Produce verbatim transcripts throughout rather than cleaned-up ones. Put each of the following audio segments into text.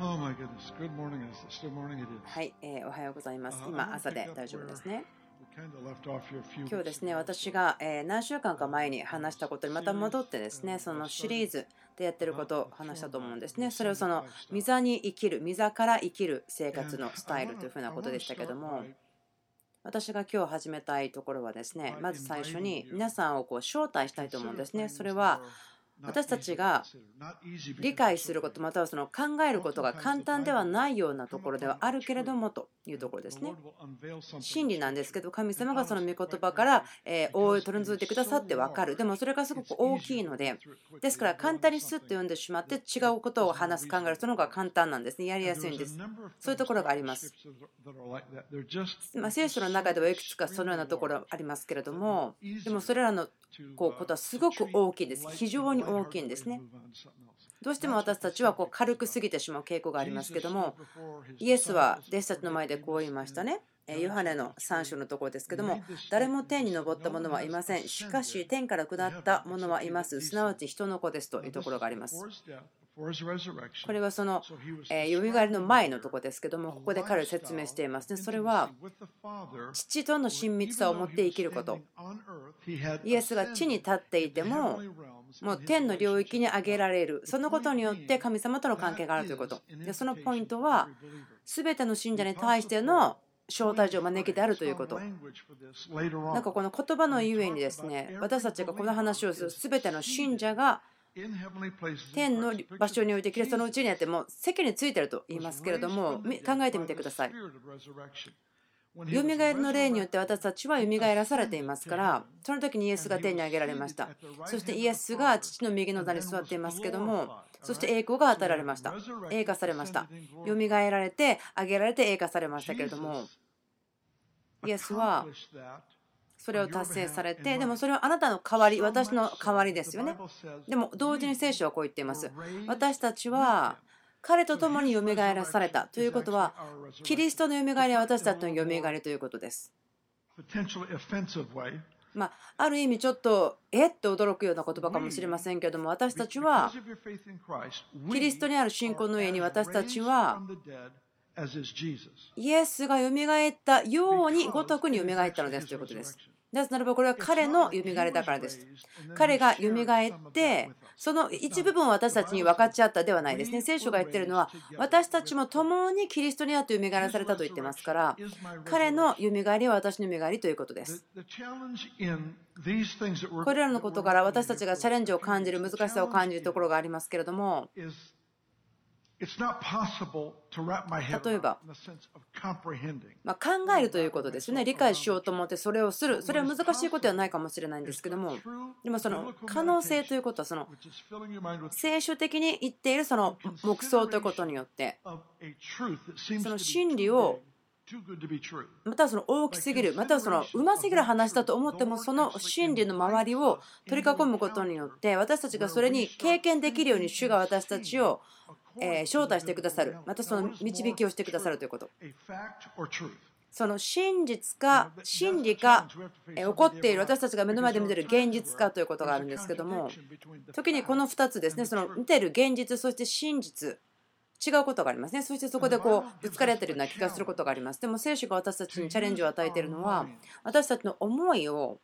はい、えーおはようございます。今、朝で大丈夫ですね。今日ですね、私が、えー何週間か前に話したことにまた戻ってですね、そのシリーズでやってることを話したと思うんですね。それをその、御座に生きる、御座から生きる生活のスタイルというふうなことでしたけども、私が今日始めたいところはですね、まず最初に皆さんをこう招待したいと思うんですね。それは私たちが理解することまたはその考えることが簡単ではないようなところではあるけれどもというところですね。真理なんですけど、神様がその御言葉からえー覆いを取り除いてくださって分かる。でもそれがすごく大きいので、ですから簡単にスッと読んでしまって違うことを話す考えるその方が簡単なんですね。やりやすいんです。そういうところがあります。まあ、聖書の中ではいくつかそのようなところありますけれども、でもそれらのこうことはすごく大きいです。非常に大きいんですね。どうしても私たちはこう軽く過ぎてしまう傾向がありますけども、イエスは弟子たちの前でこう言いましたね。ヨハネのさん章のところですけども、誰も天に昇った者はいません。しかし天から下った者はいます。すなわち人の子ですというところがあります。これはそのよみがえりの前のところですけども、ここで彼は説明していますね。それは父との親密さを持って生きること。イエスが地に立っていても、もう天の領域に上げられる。そのことによって神様との関係があるということ。で、そのポイントは、すべての信者に対しての招待状を招きであるということ。なんかこの言葉のゆえにですね、私たちがこの話をするすべての信者が天の場所においてキリストのうちにあっても席についていると言いますけれども、考えてみてください。よみがえりの霊によって私たちはよみがえらされていますから、その時にイエスが天に上げられました。そしてイエスが父の右の座に座っていますけども、そして栄光が与えられました。栄華されました。よみがえられて上げられて栄華されましたけれども、イエスはそれを達成されて、でもそれはあなたの代わり、私の代わりですよね。でも同時に聖書はこう言っています。私たちは彼と共によみがえらされたということは、キリストのよみがえりは私たちのよみがえりということです。まあ、ある意味ちょっとえっと驚くような言葉かもしれませんけども、私たちはキリストにある信仰の上に私たちはイエスがよみがえったようにごとくによみがえったのですということです。なぜならばこれは彼のよみがえりだからです。彼がよみがえってその一部分を私たちに分かち合ったではないですね。聖書が言っているのは私たちも共にキリストにあってよみがえらされたと言ってますから、彼のよみがえりは私のよみがえりということです。これらのことから私たちがチャレンジを感じる難しさを感じるところがありますけれども、例えば、まあ、考えるということですよね。理解しようと思ってそれをする。それは難しいことではないかもしれないんですけども、でもその可能性ということは、その聖書的に言っているその黙想ということによって、その真理をまたはその大きすぎる、またはそのうますぎる話だと思っても、その真理の周りを取り囲むことによって、私たちがそれに経験できるように主が私たちをえ招待してくださる、またその導きをしてくださるということ。その真実か真理か起こっている私たちが目の前で見ている現実かということがあるんですけども、時にこのふたつですね、その見ている現実、そして真実、違うことがありますね。そしてそこでこうぶつかり合っているような気がすることがあります。でも聖書が私たちにチャレンジを与えているのは、私たちの思いを、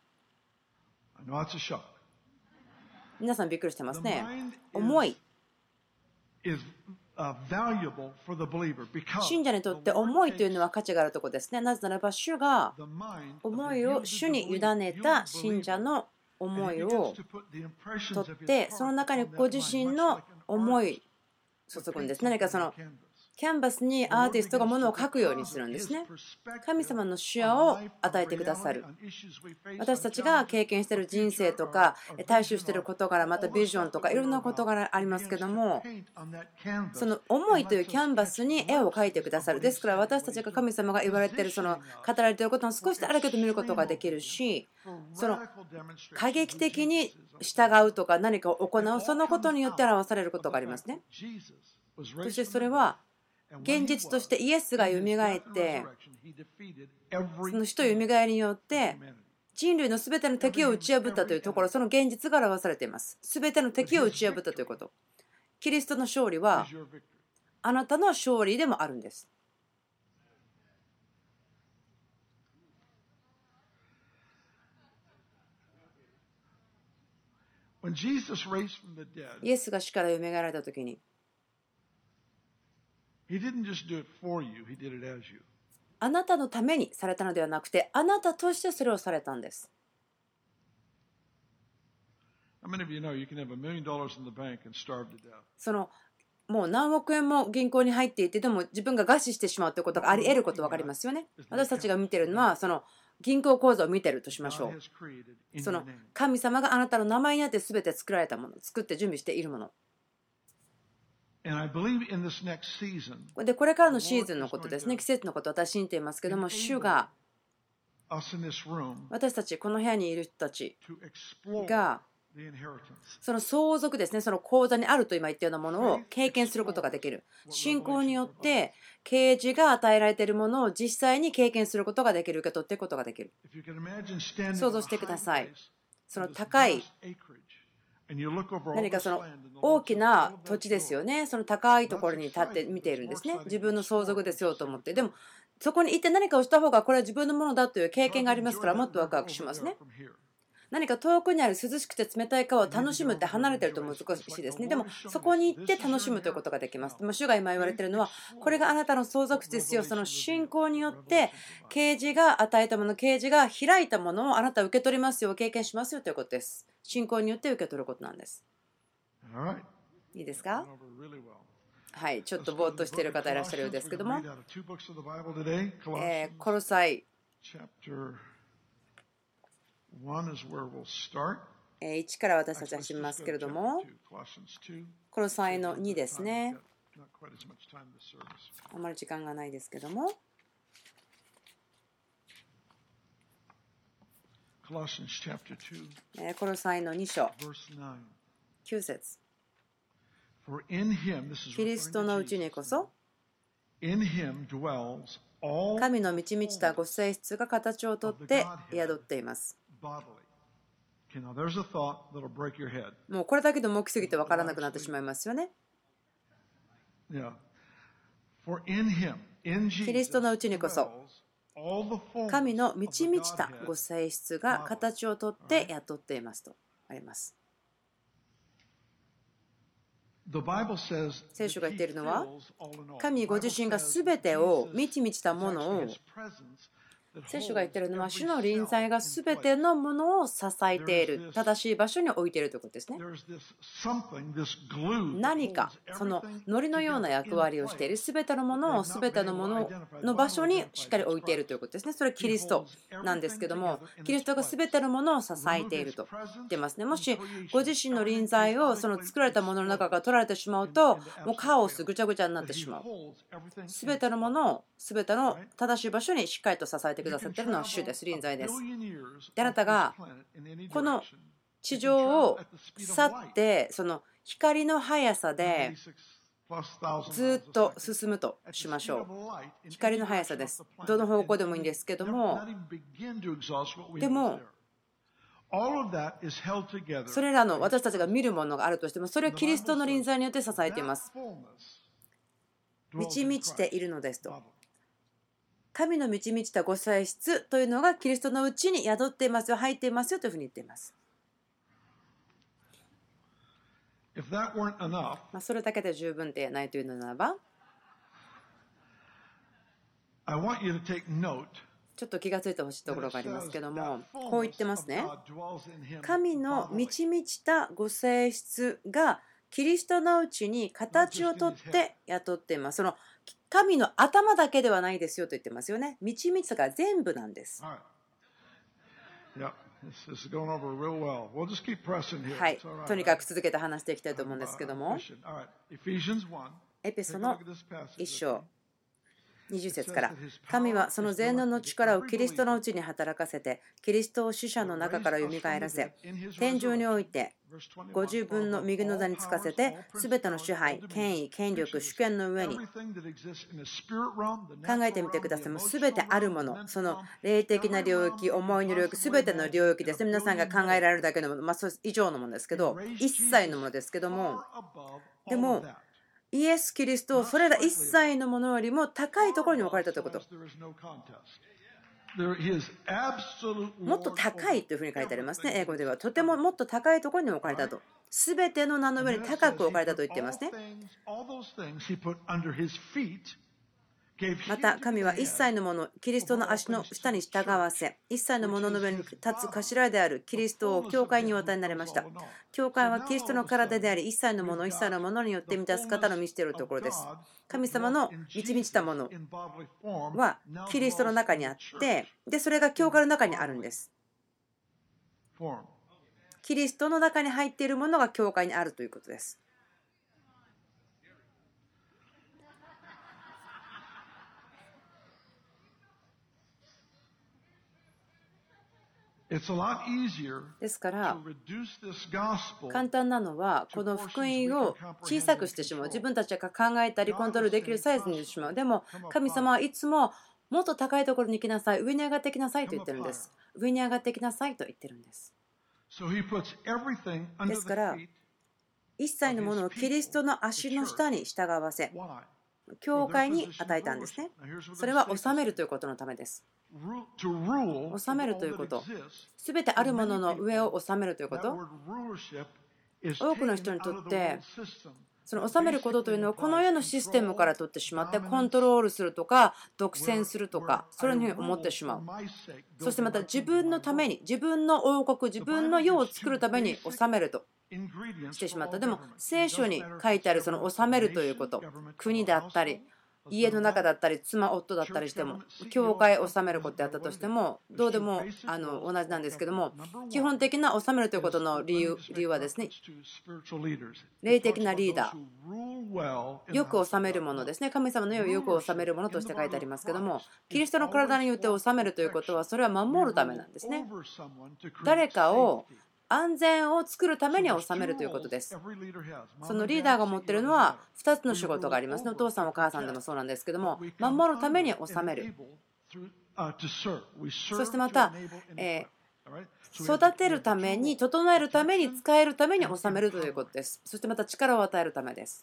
皆さんびっくりしてますね。思い。信者にとって思いというのは価値があるところですね。なぜならば主が思いを主に委ねた信者の思いを取って、その中にご自身の思い注ぐんです。何かそのキャンバスにアーティストがものを描くようにするんですね。神様の視野を与えてくださる。私たちが経験している人生とか対処している事柄、またビジョンとかいろんな事柄ありますけども、その思いというキャンバスに絵を描いてくださる。ですから私たちが神様が言われている、その語られていることも少しであるけど見ることができるし、その過激的に従うとか何かを行う、そのことによって表されることがありますね。そしてそれは現実としてイエスがよみがえって、その死とよみがえりによって人類のすべての敵を打ち破ったというところ、その現実が表されています。すべての敵を打ち破ったということ。キリストの勝利はあなたの勝利でもあるんです。イエスが死からよみがえられたときに、あなたのためにされたのではなくて、あなたとしてそれをされたんです。そのもう何億円も銀行に入っていて、でも自分が餓死してしまうということがあり得ること分かりますよね。私たちが見ているのはその銀行口座を見ているとしましょう。その神様があなたの名前にあって全て作られたもの、作って準備しているもの。で、これからのシーズンのことですね、季節のことを私信じていますけども、主が私たちこの部屋にいる人たちがその相続ですね、その口座にあると今言ったようなものを経験することができる。信仰によって啓示が与えられているものを実際に経験することができる、受け取っていくことができる。想像してください。その高い何かその大きな土地ですよね。その高いところに立って見ているんですね。自分の相続ですよと思って。でもそこに行って何かをした方がこれは自分のものだという経験がありますから、もっとワクワクしますね。何か遠くにある涼しくて冷たい川を楽しむって離れてると難しいですね。でもそこに行って楽しむということができます。でも主が今言われているのは、これがあなたの相続地ですよ。その信仰によって啓示が与えたもの、啓示が開いたものをあなたは受け取りますよ、経験しますよということです。信仰によって受け取ることなんです。いいですか？はい、ちょっとぼーっとしている方いらっしゃるようですけども、えー、コロサイいちから私たちは始めますけれども、コロサイのにですね。あまり時間がないですけども、コロサイのに章きゅう節。キリストのうちにこそ神の満ち満ちたご性質が形をとって宿っています。もうこれだけでも大きすぎて分からなくなってしまいますよね。キリストのうちにこそ神の満ち満ちたご性質が形をとって宿っていますとあります。聖書が言っているのは、神ご自身がすべてを満ち満ちたものを、聖書が言っているのは、主の臨在がすべてのものを支えている、正しい場所に置いているということですね。何か、その糊のような役割をしている、すべてのものをすべてのものの場所にしっかり置いているということですね。それはキリストなんですけども、キリストがすべてのものを支えていると言ってますね。もしご自身の臨在をその作られたものの中から取られてしまうと、もうカオス、ぐちゃぐちゃになってしまう。すべてのものをすべての正しい場所にしっかりと支えてくださっているのは主です。臨在です。で、あなたがこの地上を去ってその光の速さでずっと進むとしましょう。光の速さです。どの方向でもいいんですけども、でもそれらの私たちが見るものがあるとしても、それをキリストの臨在によって支えています。満ち満ちているのですと。神の満ち満ちたご性質というのがキリストのうちに宿っていますよ、入っていますよというふうに言っています。まあそれだけで十分でないというのならば、ちょっと気がついてほしいところがありますけども、こう言ってますね。神の満ち満ちたご性質がキリストのうちに形をとって雇っています。その神の頭だけではないですよと言ってますよね。満ち満ちたが全部なんです。はい、とにかく続けて話していきたいと思うんですけども、エペソのいっ章にじゅう節から、神はその全能の力をキリストのうちに働かせて、キリストを死者の中からよみがえらせ、天上においてご自分の右の座につかせて、すべての支配、権威、権力、主権の上に考えてみてください。すべてあるもの、その霊的な領域、思いの領域、すべての領域ですね。皆さんが考えられるだけのもの、まあ、それ以上のものですけど、一切のものですけども、でもイエス・キリストをそれら一切のものよりも高いところに置かれたということ。もっと高いというふうに書いてありますね。英語ではとてももっと高いところに置かれたと。すべての名の上に高く置かれたと言っていますね。また神は一切のもの、キリストの足の下に従わせ、一切のものの上に立つ頭であるキリストを教会にお与えになりました。教会はキリストの体であり、一切のもの、一切のものによって満たす方の満ちているところです。神様の満ち満ちたものはキリストの中にあって、でそれが教会の中にあるんです。キリストの中に入っているものが教会にあるということです。ですから簡単なのはこの福音を小さくしてしまう、自分たちが考えたりコントロールできるサイズにしてしまう。でも神様はいつももっと高いところに行きなさい、上に上がってきなさいと言ってるんです。上に上がってきなさいと言ってるんです。ですから一切のものをキリストの足の下に従わせ、教会に与えたんですね。それは治めるということのためです。治めるということ、すべてあるものの上を治めるということ。多くの人にとってその治めることというのはこの世のシステムから取ってしまってコントロールするとか独占するとか、そういうふうに思ってしまう。そしてまた自分のために、自分の王国、自分の世を作るために治めるとしてしまった。でも聖書に書いてあるその治めるということ、国だったり家の中だったり妻夫だったりしても、教会を治めることであったとしてもどうでもあの同じなんですけども、基本的な治めるということの理由理由はですね、霊的なリーダー、よく治めるものですね。神様の世をよく治めるものとして書いてありますけども、キリストの体によって治めるということはそれは守るためなんですね。誰かを安全を作るために治めるということです。そのリーダーが持っているのはふたつの仕事がありますね。お父さんお母さんでもそうなんですけども、守るために治める。そしてまた、えー、育てるために、整えるために、使えるために治めるということです。そしてまた力を与えるためです。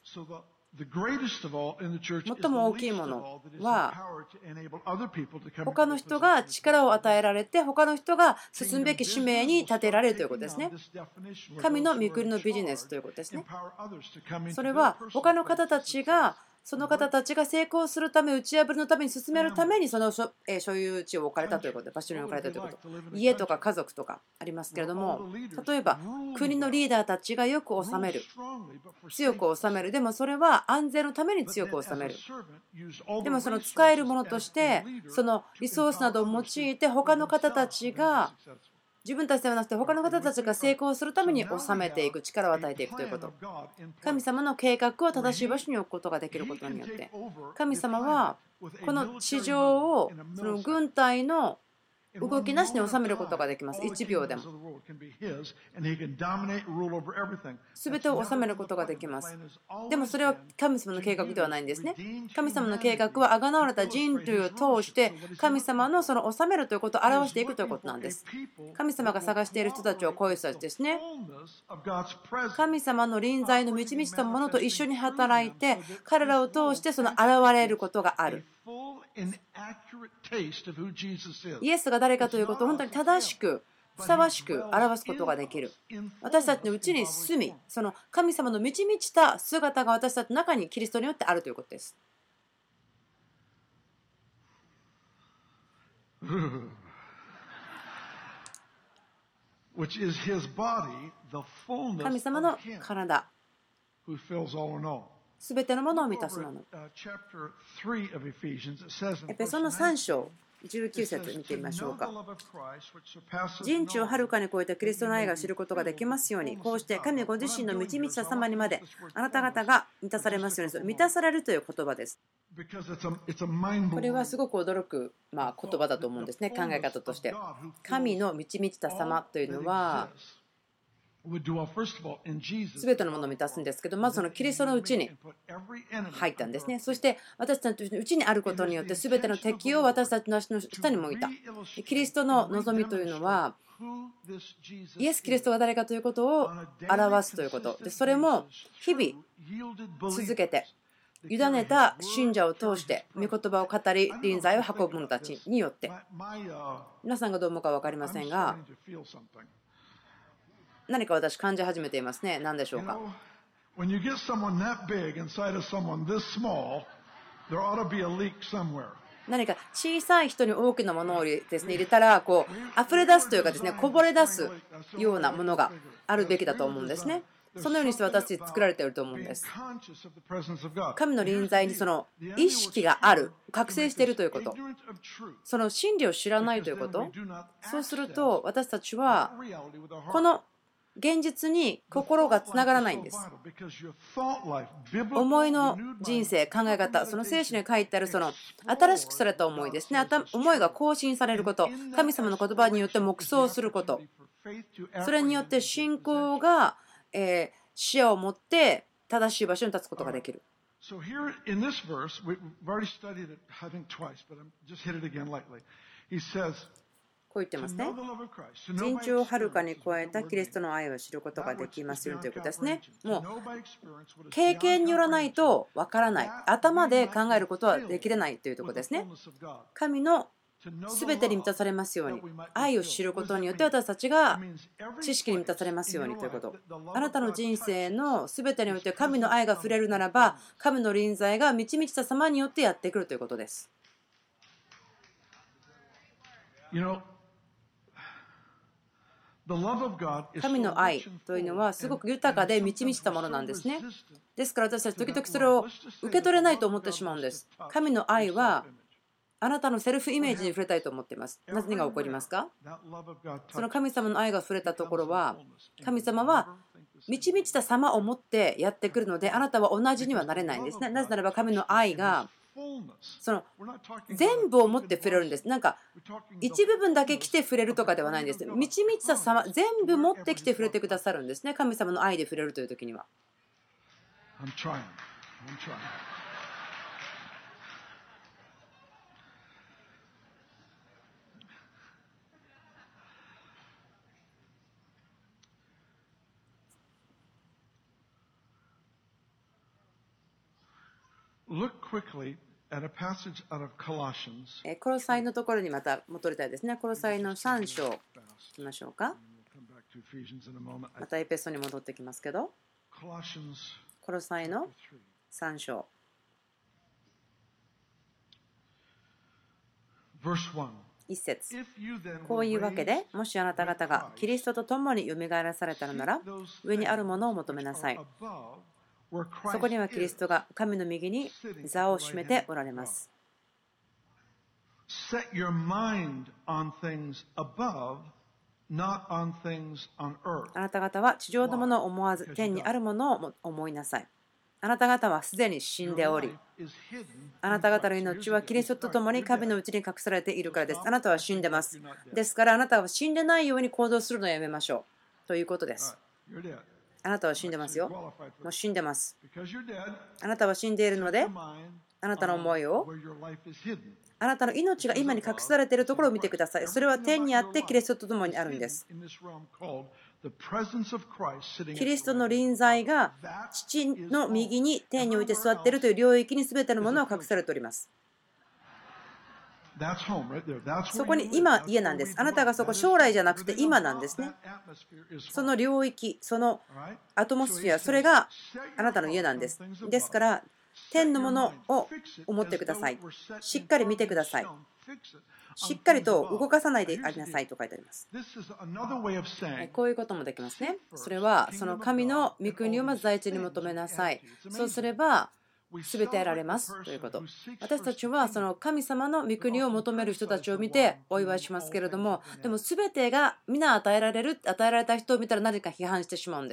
最も大きいものは他の人が力を与えられて他の人が進むべき使命に立てられるということですね。神の御国のビジネスということですね。それは他の方たちがその方たちが成功するため、打ち破りのために進めるためにその所有地を置かれたということで、場所に置かれたということ、家とか家族とかありますけれども、例えば国のリーダーたちがよく治める、強く治める、でもそれは安全のために強く治める。でもその使えるものとしてそのリソースなどを用いて他の方たちが、自分たちではなくて他の方たちが成功するために治めていく、力を与えていくということ。神様の計画を正しい場所に置くことができることによって、神様はこの地上をその軍隊の動きなしに収めることができます。いちびょうでも全てを収めることができます。でもそれは神様の計画ではないんですね。神様の計画はあがなわれた人類を通して神様のその収めるということを表していくということなんです。神様が探している人たちはこういう人たちですね。神様の臨在の満ち満ちたものと一緒に働いて、彼らを通してその現れることがある。イエスが誰かということを本当に正しくふさわしく表すことができる。私たちのうちに住み、その神様の満ち満ちた姿が私たちの中にキリストによってあるということです。神様の体、すべてのものを満たすもの。エペソのさん章じゅうきゅう節見てみましょうか。人知をはるかに超えたキリストの愛が知ることができますように、こうして神ご自身の満ち満ちた様にまであなた方が満たされますように。満たされるという言葉です。これはすごく驚く、まあ、言葉だと思うんですね。考え方として神の満ち満ちた様というのはすべてのものを満たすんですけど、まずそのキリストのうちに入ったんですね。そして私たちのうちにあることによってすべての敵を私たちの足の下に向いた。キリストの望みというのはイエス・キリストが誰かということを表すということで、それも日々続けて委ねた信者を通して御言葉を語り臨在を運ぶ者たちによって、皆さんがどう思うか分かりませんが、何か私感じ始めていますね。何でしょうか。何か小さい人に大きなものをですね入れたらこう溢れ出すというかですね、こぼれ出すようなものがあるべきだと思うんですね。そのようにして私たち作られていると思うんです。神の臨在にその意識がある、覚醒しているということ、その真理を知らないということ、そうすると私たちはこの現実に心がつながらないんです。思いの人生、考え方、その聖書に書いてあるその新しくされた思いですね。思いが更新されること、神様の言葉によって黙想すること、それによって信仰がえー、視野を持って正しい場所に立つことができる。こう言ってますね。人知をはるかに超えたキリストの愛を知ることができますよということですね。もう経験によらないとわからない、頭で考えることはできれないというところですね。神のすべてに満たされますように、愛を知ることによって私たちが知識に満たされますようにということ。あなたの人生のすべてにおいて神の愛が触れるならば、神の臨在が満ち満ちた様によってやってくるということです。神の愛というのはすごく豊かで満ち満ちたものなんですね。ですから私たち時々それを受け取れないと思ってしまうんです。神の愛はあなたのセルフイメージに触れたいと思っています。何が起こりますか？その神様の愛が触れたところは、神様は満ち満ちた様を持ってやってくるので、あなたは同じにはなれないんですね。なぜならば神の愛がその全部を持って触れるんです。なんか一部分だけ来て触れるとかではないんです。満ち満ちた様、全部持ってきて触れてくださるんですね。神様の愛で触れるという時には。コロサイのところにまた戻りたいですね。コロサイのさん章いきましょうか。またエペソに戻ってきますけど、コロサイのさん章一節、こういうわけで、もしあなた方がキリストと共によみがえらされたのなら、上にあるものを求めなさい。そこにはキリストが神の右に座を占めておられます。あなた方は地上のものを思わず天にあるものを思いなさい。あなた方はすでに死んでおり、あなた方の命はキリストと共に神のうちに隠されているからです。あなたは死んでます。ですからあなたは死んでないように行動するのをやめましょうということです。あなたは死んでますよ。もう死んでます。あなたは死んでいるので、あなたの思いを、あなたの命が今に隠されているところを見てください。それは天にあってキリストと共にあるんです。キリストの臨在が父の右に天において座っているという領域に全てのものを隠されております。そこに今家なんです。あなたがそこ将来じゃなくて今なんですね。その領域、そのアトモスフィア、それがあなたの家なんです。ですから天のものを思ってください。しっかり見てください。しっかりと動かさないでありなさいと書いてあります。こういうこともできますね。それはその神の御国をまず第一に求めなさい。そうすれば全て得られますということ。私たちはその神様の御国を求める人たちを見てお祝いしますけれども、でも全てが皆与えられる、与えられた人を見たら何か批判してしまうんです。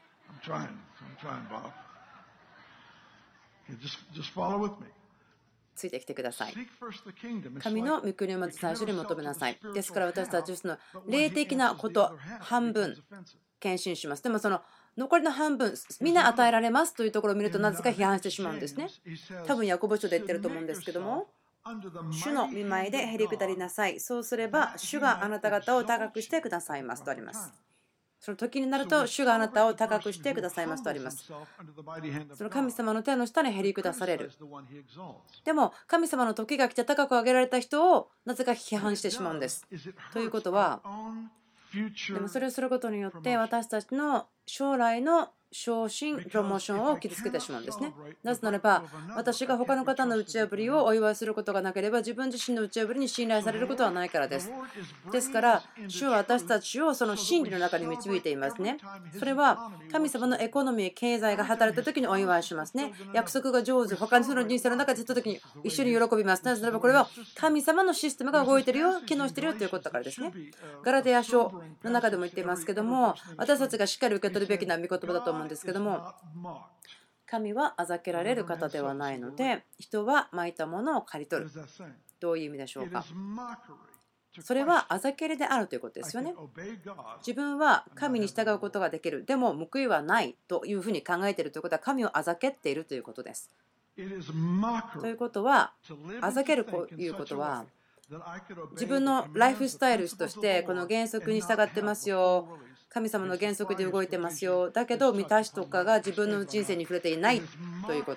ついてきてください。神の御国をまず最初に求めなさい。ですから私たちはその霊的なこと半分献身します。でもその残りの半分、みんな与えられますというところを見るとなぜか批判してしまうんですね。多分ヤコブ書で言ってると思うんですけども、主の御前でへり下りなさい。そうすれば主があなた方を高くしてくださいますとあります。その時になると主があなたを高くしてくださいますとあります。その神様の手の下にへり下される。でも神様の時が来て高く上げられた人をなぜか批判してしまうんです。ということは、でもそれをすることによって私たちの将来の昇進、プロモーションを傷つけてしまうんですね。なぜならば、私が他の方の打ち破りをお祝いすることがなければ、自分自身の打ち破りに信頼されることはないからです。ですから、主は私たちをその真理の中に導いていますね。それは神様のエコノミー、経済が働いた時にお祝いしますね。約束が上手、他の人の人生の中でした時に一緒に喜びます。なぜならば、これは神様のシステムが動いているよ、機能しているよということだからですね。ガラテヤ書の中でも言っていますけども、私たちがしっかり受け取るべきな御言葉だと思うんですけども、神はあざけられる方ではないので、人はまいたものを刈り取る。どういう意味でしょうか。それはあざけりであるということですよね。自分は神に従うことができる。でも報いはないというふうに考えているということは、神をあざけっているということです。ということは、あざけるということは、自分のライフスタイルとしてこの原則に従ってますよ、神様の原則で動いてますよ、だけど満たしとかが自分の人生に触れていないということ。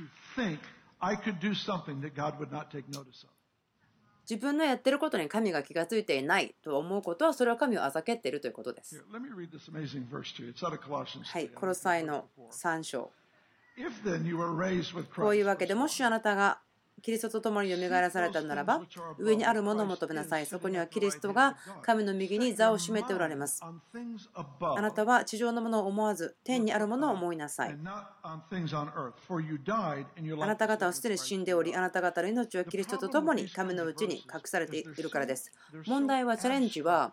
自分のやってることに神が気がついていないと思うことは、それは神をあざけっているということです。はい、コロサイのさん章。こういうわけで、もしあなたがキリストと共によみがえらされたならば、上にあるものを求めなさい。そこにはキリストが神の右に座を占めておられます。あなたは地上のものを思わず、天にあるものを思いなさい。あなた方はすでに死んでおり、あなた方の命はキリストと共に神のうちに隠されているからです。問題は、チャレンジは、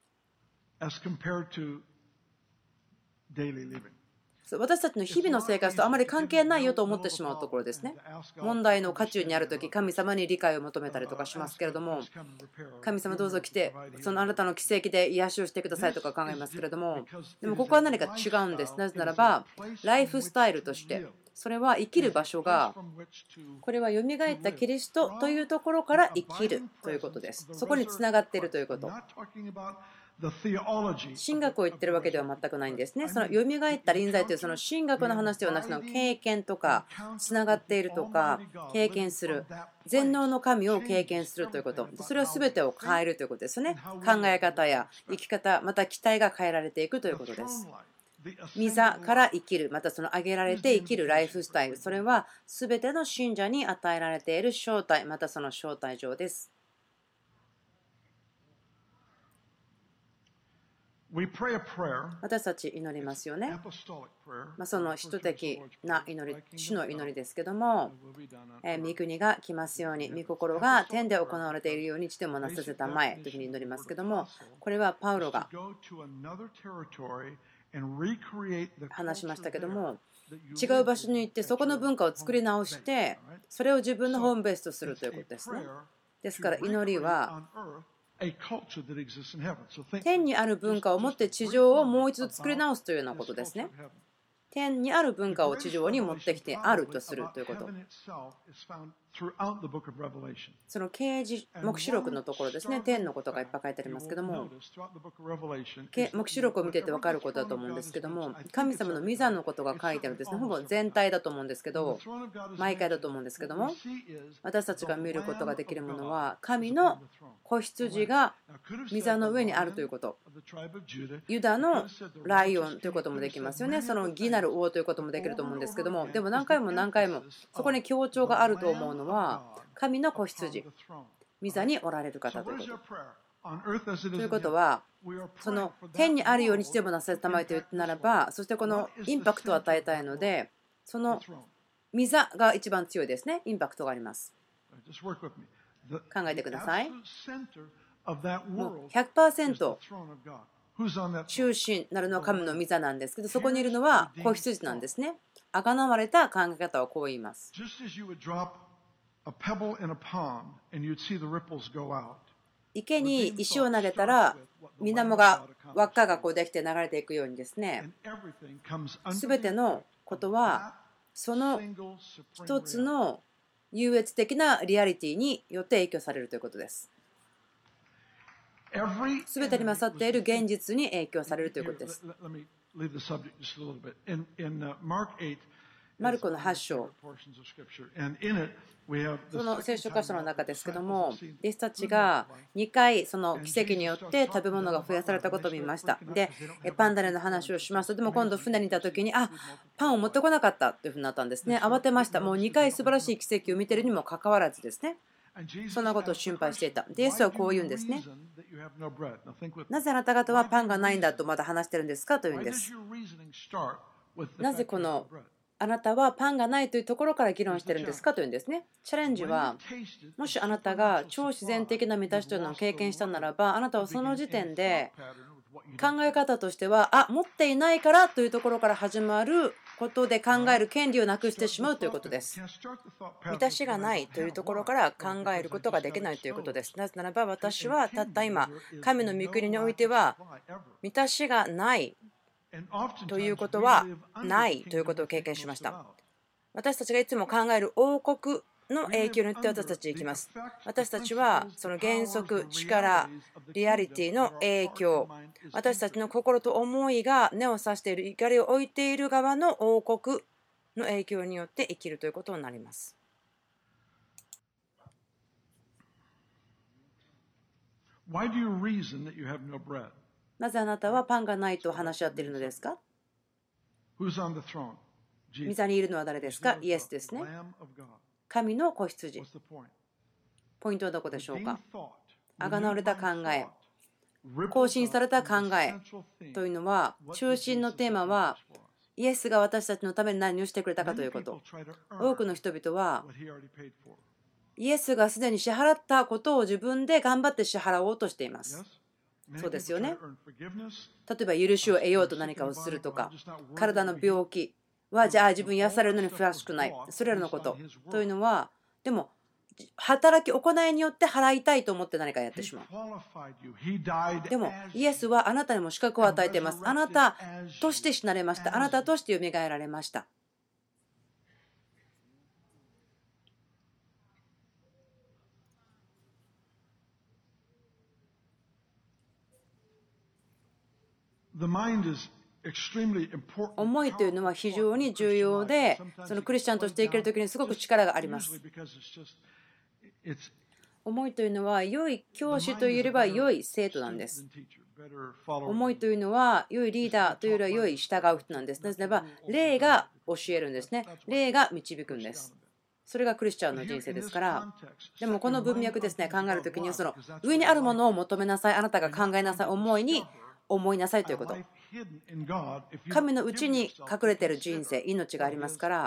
私たちの日々の生活とあまり関係ないよと思ってしまうところですね。問題の渦中にあるとき、神様に理解を求めたりとかしますけれども、神様どうぞ来て、そのあなたの奇跡で癒しをしてくださいとか考えますけれども、でもここは何か違うんです。なぜならば、ライフスタイルとして、それは生きる場所が、これはよみがえったキリストというところから生きるということです。そこにつながっているということ。神学を言ってるわけでは全くないんですね。そのよみがえった臨在というその神学の話ではなく、その経験とかつながっているとか経験する、全能の神を経験するということ、それは全てを変えるということですよね。考え方や生き方、また期待が変えられていくということです。御座から生きる、またその挙げられて生きるライフスタイル、それは全ての信者に与えられている招待、またその招待状です。私たち祈りますよね。まあ、その使徒的な祈り、主の祈りですけども、えー、御国が来ますように、御心が天で行われているように地でもなさせたまえというふうに祈りますけども、これはパウロが話しましたけども、違う場所に行ってそこの文化を作り直して、それを自分のホームベースとするということですね。ですから祈りは、天にある文化を持って地上をもう一度作り直すというようなことですね。天にある文化を地上に持ってきてあるとするということ。その啓示黙示録のところですね、天のことがいっぱい書いてありますけども、黙示録を見てて分かることだと思うんですけども、神様の御座のことが書いてあるんですね。ほぼ全体だと思うんですけど、毎回だと思うんですけども、私たちが見ることができるものは、神の子羊が御座の上にあるということ。ユダのライオンということもできますよね。その義なる王ということもできると思うんですけども、でも何回も何回もそこに強調があると思うのは、神の子羊、御座におられる方ということ。ということは、その天にあるようにしてもなされたまえと言うならば、そしてこのインパクトを与えたいので、その御座が一番強いですね。インパクトがあります。考えてください。もう ひゃくパーセント 中心なるのは神の御座なんですけど、そこにいるのは子羊なんですね。あがなわれた考え方はこう言います。 池に石を投げたら水面が輪っかがこうできて流れていくようにですね、すべてのことはその一つの優越的なリアリティによって影響されるということです。すべてに勝っている現実に影響されるということです。マルコのはち章、その聖書箇所の中ですけども、弟子たちがにかいその奇跡によって食べ物が増やされたことを見ました。で、パンダネの話をしますと、でも今度船にいた時に、あ、パンを持ってこなかったというふうになったんですね。慌てました。もうにかい素晴らしい奇跡を見ているにもかかわらずですね、そんなことを心配していた。で、イエスはこう言うんですね。なぜあなた方はパンがないんだとまだ話してるんですかというんです。なぜこのあなたはパンがないというところから議論してるんですかというんですね。チャレンジは、もしあなたが超自然的な満たしというのを経験したならば、あなたはその時点で考え方としては、あ、持っていないからというところから始まることで考える権利をなくしてしまうということです。満たしがないというところから考えることができないということです。なぜならば私はたった今、神の御国においては満たしがないということはないということを経験しました。私たちがいつも考える王国の影響によって私たち行きます。私たちはその原則、力、リアリティの影響、私たちの心と思いが根を刺している怒りを置いている側の王国の影響によって生きるということになります。なぜあなたはパンがないと話し合っているのですか？御座にいるのは誰ですか？イエスですね。神の子羊。ポイントはどこでしょうか？あがなわれた考え、更新された考えというのは、中心のテーマはイエスが私たちのために何をしてくれたかということ。多くの人々はイエスがすでに支払ったことを自分で頑張って支払おうとしています。そうですよね。例えば許しを得ようと何かをするとか、体の病気はじゃあ自分癒されるのにふさわしくない、それらのことというのは、でも働き行いによって払いたいと思って何かやってしまう。でもイエスはあなたにも資格を与えています。あなたとして死なれました。あなたとしてよみがえられました。思いというのは非常に重要で、そのクリスチャンとして生きるときにすごく力があります。思いというのは良い教師というよりは良い生徒なんです。思いというのは良いリーダーというよりは良い従う人なんです。なぜならば霊が教えるんですね。霊が導くんです。それがクリスチャンの人生ですから。でもこの文脈ですね、考えるときにはその上にあるものを求めなさい、あなたが考えなさい、思いに思いなさいということ。神のうちに隠れている人生、命がありますから、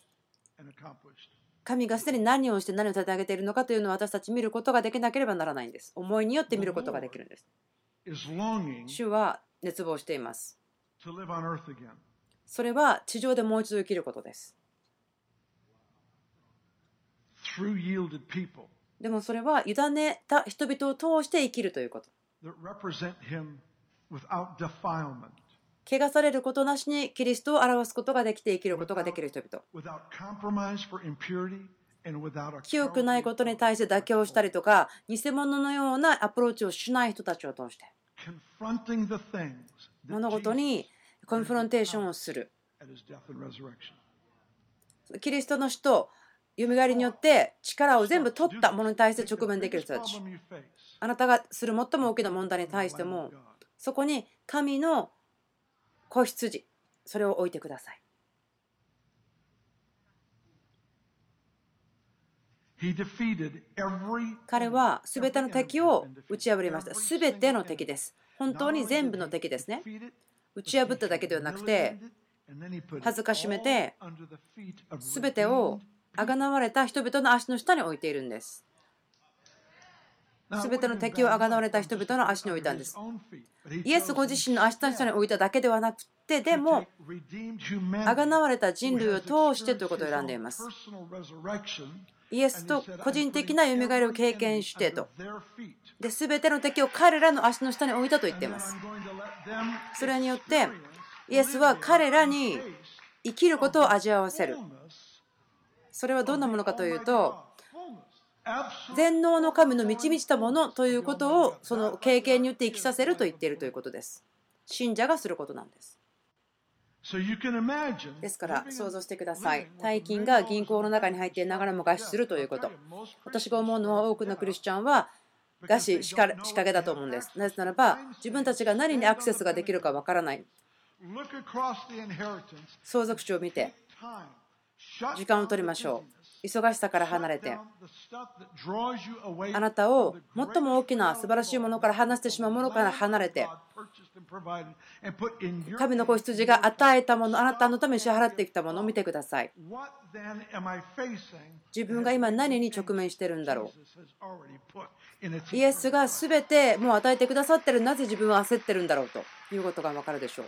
神がすでに何をして何を立て上げているのかというのを私たち見ることができなければならないんです。思いによって見ることができるんです。主は熱望しています。それは地上でもう一度生きることです。でもそれは委ねた人々を通して生きるということ。汚されることなしにキリストを表すことができて生きることができる人々。清くないことに対して妥協したりとか、偽物のようなアプローチをしない人たちを通して、物事にコンフロンテーションをする。キリストの死と蘇りによって力を全部取ったものに対して直面できる人たち。あなたがする最も大きな問題に対しても、そこに神の子羊、それを置いてください。彼はすべての敵を打ち破りました。すべての敵です。本当に全部の敵ですね。打ち破っただけではなくて、恥ずかしめて、すべてをあがなわれた人々の足の下に置いているんです。すべての敵をあがなわれた人々の足に置いたんです。イエスご自身の足の下に置いただけではなくて、でもあがなわれた人類を通してということを選んでいます。 イエスと個人的な蘇りを経験してと。で、全ての敵を彼らの足の下に置いたと言っています。それによって、イエスは彼らに生きることを味わわせる。それはどんなものかというと、全能の神の満ち満ちたものということをその経験によって生きさせると言っているということです。信者がすることなんです。ですから想像してください。大金が銀行の中に入っていながらも餓死するということ。私が思うのは多くのクリスチャンは餓死仕掛けだと思うんです。なぜならば自分たちが何にアクセスができるかわからない。相続地を見て時間を取りましょう。忙しさから離れてあなたを最も大きな素晴らしいものから離してしまうものから離れて神の子羊が与えたもの、あなたのために支払ってきたものを見てください。自分が今何に直面しているんだろう。イエスが全てもう与えてくださっている。なぜ自分は焦っているんだろうということが分かるでしょう。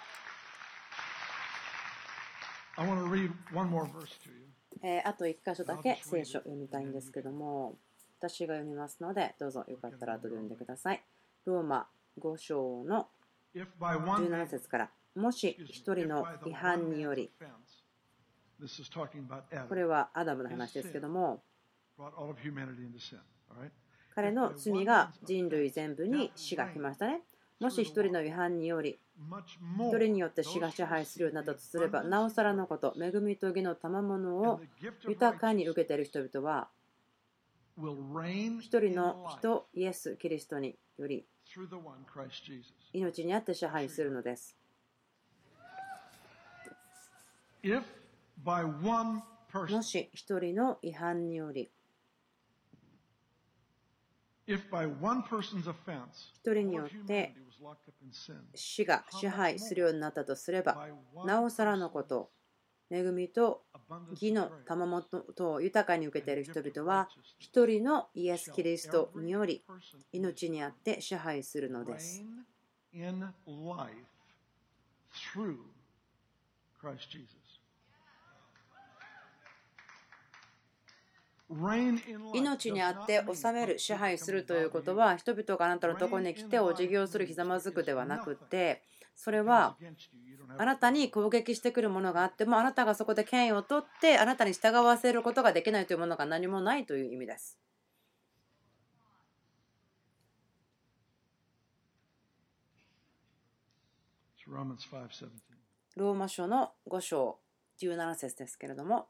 えー、あといっ箇所だけ聖書を読みたいんですけども、私が読みますのでどうぞよかったら後で読んでください。ローマご章のじゅうなな節から、もし一人の違反により、これはアダムの話ですけども、彼の罪が人類全部に死が来ましたね。もし一人の違反により、一人によって死が支配するようになったとすれば、なおさらのこと、恵みと義の賜物を豊かに受けている人々は、一人の人、イエス・キリストにより、命にあって支配するのです。もし一人の違反により、一人によって死が支配するようになったとすれば、なおさらのこと、恵みと義の賜物を豊かに受けている人々は、一人のイエス・キリストにより命にあって支配するのです。命にあって治める、支配するということは、人々があなたのところに来てお辞儀をする、ひざまずくではなくて、それはあなたに攻撃してくるものがあっても、あなたがそこで権威を取ってあなたに従わせることができないというものが何もないという意味です。ローマ書のご章じゅうなな節ですけれども、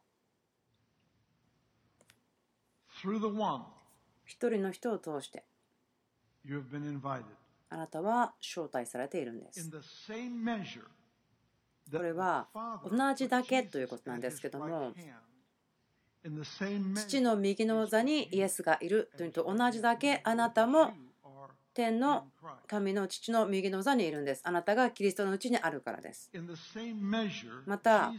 一人の人を通してあなたは招待されているんです。これは同じだけということなんですけども、父の右の座にイエスがいるというと同じだけ、あなたも天の神の父の右の座にいるんです。あなたがキリストのうちにあるからです。また、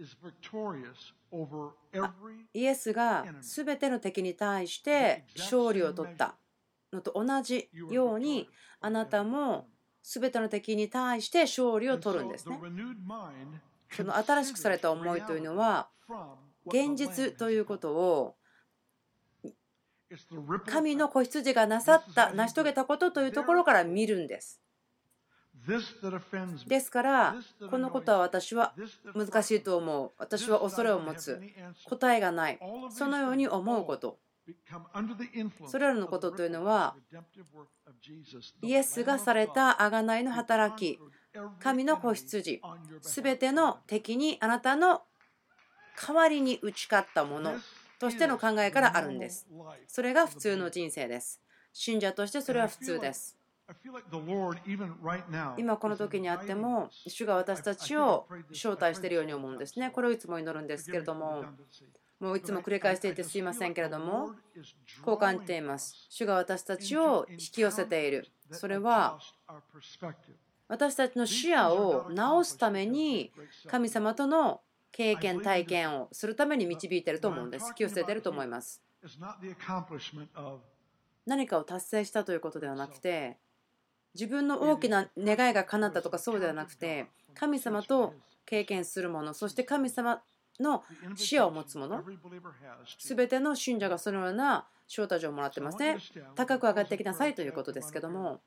イエスがすべての敵に対して勝利を取ったのと同じように、あなたもすべての敵に対して勝利を取るんですね。その新しくされた思いというのは、現実ということを神の子羊がなさった、成し遂げたことというところから見るんです。ですから、このことは私は難しいと思う。私は恐れを持つ。答えがない。そのように思うこと。それらのことというのは、イエスがされた贖いの働き、神の子羊、すべての敵にあなたの代わりに打ち勝ったものとしての考えからあるんです。それが普通の人生です。信者としてそれは普通です。今この時にあっても、主が私たちを招待しているように思うんですね。これをいつも祈るんですけれども、もういつも繰り返していてすいませんけれども、こう感じています。主が私たちを引き寄せている。それは私たちの視野を直すために、神様との経験、体験をするために導いていると思うんです。引き寄せていると思います。何かを達成したということではなくて、自分の大きな願いが叶ったとかそうではなくて、神様と経験するもの、そして神様の視野を持つもの、すべての信者がそのような招待状をもらってますね。高く上がってきなさいということですけども、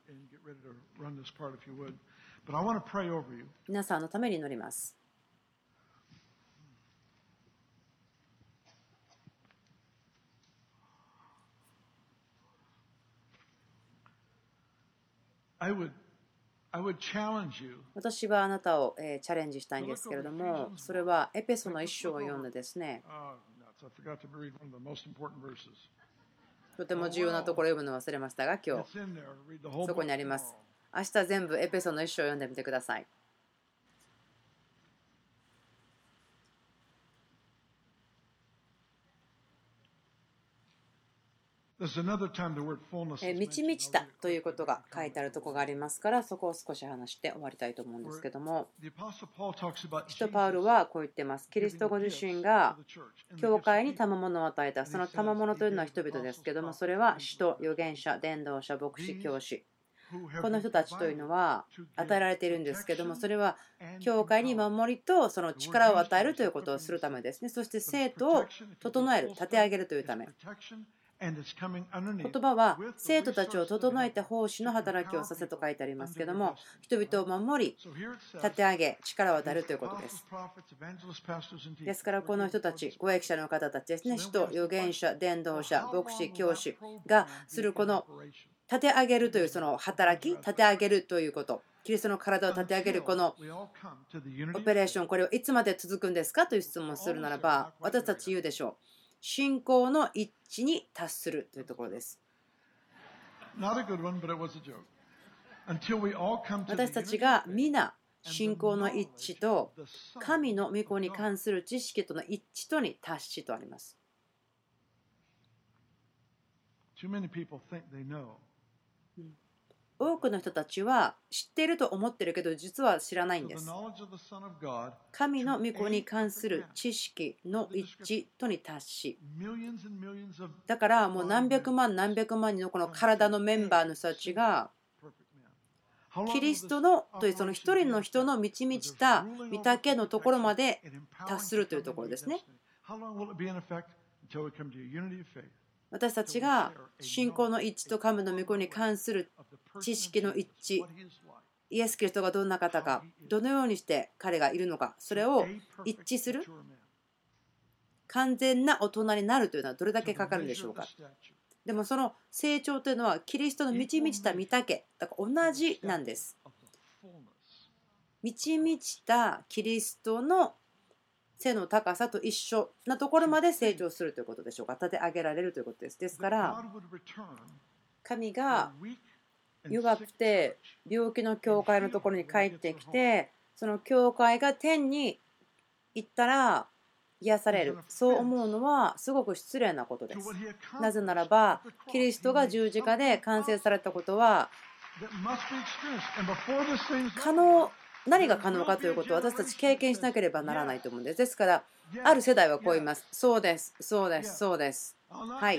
皆さんのために祈ります。私はあなたをチャレンジしたいんですけれども、それはエペソの一章を読んでですね、とても重要なところを読むのを忘れましたが、今日そこにあります。明日全部エペソの一章を読んでみてください。満ち満ちたということが書いてあるところがありますから、そこを少し話して終わりたいと思うんですけども、使徒パウルはこう言ってます。キリストご自身が教会に賜物を与えた。その賜物というのは人々ですけども、それは使徒、預言者、伝道者、牧師、教師。この人たちというのは与えられているんですけども、それは教会に守りとその力を与えるということをするためですね。そして生徒を整える、立て上げるというため。言葉は生徒たちを整えて奉仕の働きをさせと書いてありますけども、人々を守り、立て上げ、力を与えるということです。ですからこの人たち、ご益者の方たちですね、使徒、預言者、伝道者、牧師、教師がするこの立て上げるというその働き、立て上げるということ、キリストの体を立て上げるこのオペレーション、これはいつまで続くんですかという質問をするならば、私たち言うでしょう。信仰の一致に達するというところです。私たちが皆信仰の一致と神の御子に関する知識との一致とに達しとあります。多くの人たちは知っていると思っているけど実は知らないんです。神の御子に関する知識の一致とに達し、だからもう何百万何百万人のこの体のメンバーの人たちがキリストのというその一人の人の満ち満ちた御岳のところまで達するというところですね。私たちが信仰の一致と神の御子に関する知識の一致、イエス・キリストがどんな方か、どのようにして彼がいるのか、それを一致する完全な大人になるというのはどれだけかかるんでしょうか。でもその成長というのはキリストの満ち満ちた御岳だから同じなんです。満ち満ちたキリストの背の高さと一緒なところまで成長するということでしょうか。立て上げられるということです。ですから神が弱くて病気の教会のところに帰ってきて、その教会が天に行ったら癒される、そう思うのはすごく失礼なことです。なぜならばキリストが十字架で完成されたことは可能、何が可能かということを私たち経験しなければならないと思うんです。ですからある世代はこう言います。そうです、そうです、そうです。はい、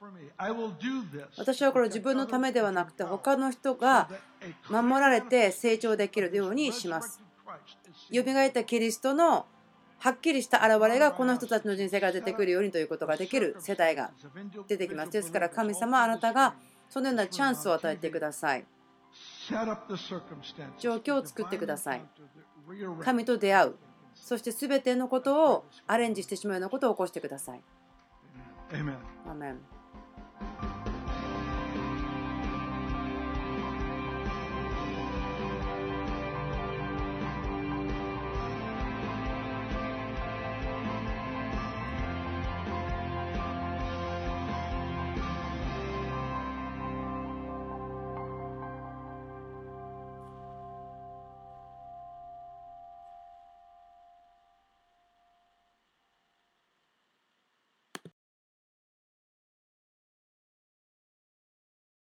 私はこれを自分のためではなくて他の人が守られて成長できるようにします。よみがえったキリストのはっきりした現れがこの人たちの人生から出てくるようにということができる世代が出てきます。ですから神様、あなたがそのようなチャンスを与えてください。状況を作ってください。神と出会う、そして全てのことをアレンジしてしまうようなことを起こしてください。アーメン。